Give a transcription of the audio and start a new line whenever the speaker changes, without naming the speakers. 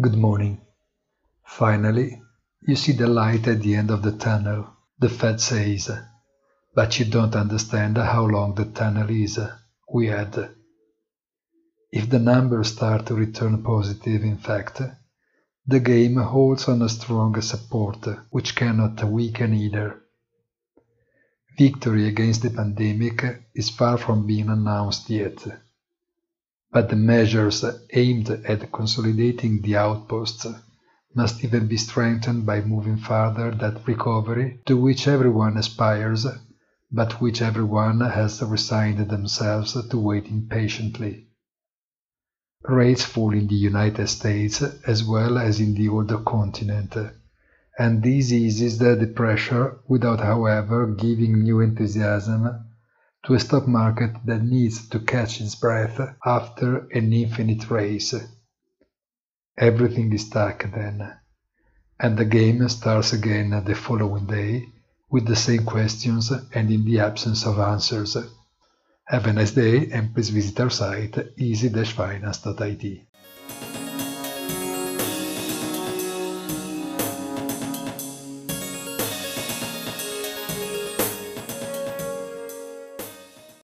Good morning. Finally, you see the light at the end of the tunnel, the Fed says, but you don't understand how long the tunnel is. We had. If the numbers start to return positive, in fact, the game holds on a strong support, which cannot weaken either. Victory against the pandemic is far from being announced yet, but the measures aimed at consolidating the outposts must even be strengthened by moving further that recovery to which everyone aspires, but which everyone has resigned themselves to waiting patiently. Rates fall in the United States as well as in the older continent, and this eases the pressure without, however, giving new enthusiasm to a stock market that needs to catch its breath after an infinite race. Everything is stuck then, and the game starts again the following day with the same questions and in the absence of answers. Have a nice day and please visit our site easy-finance.it.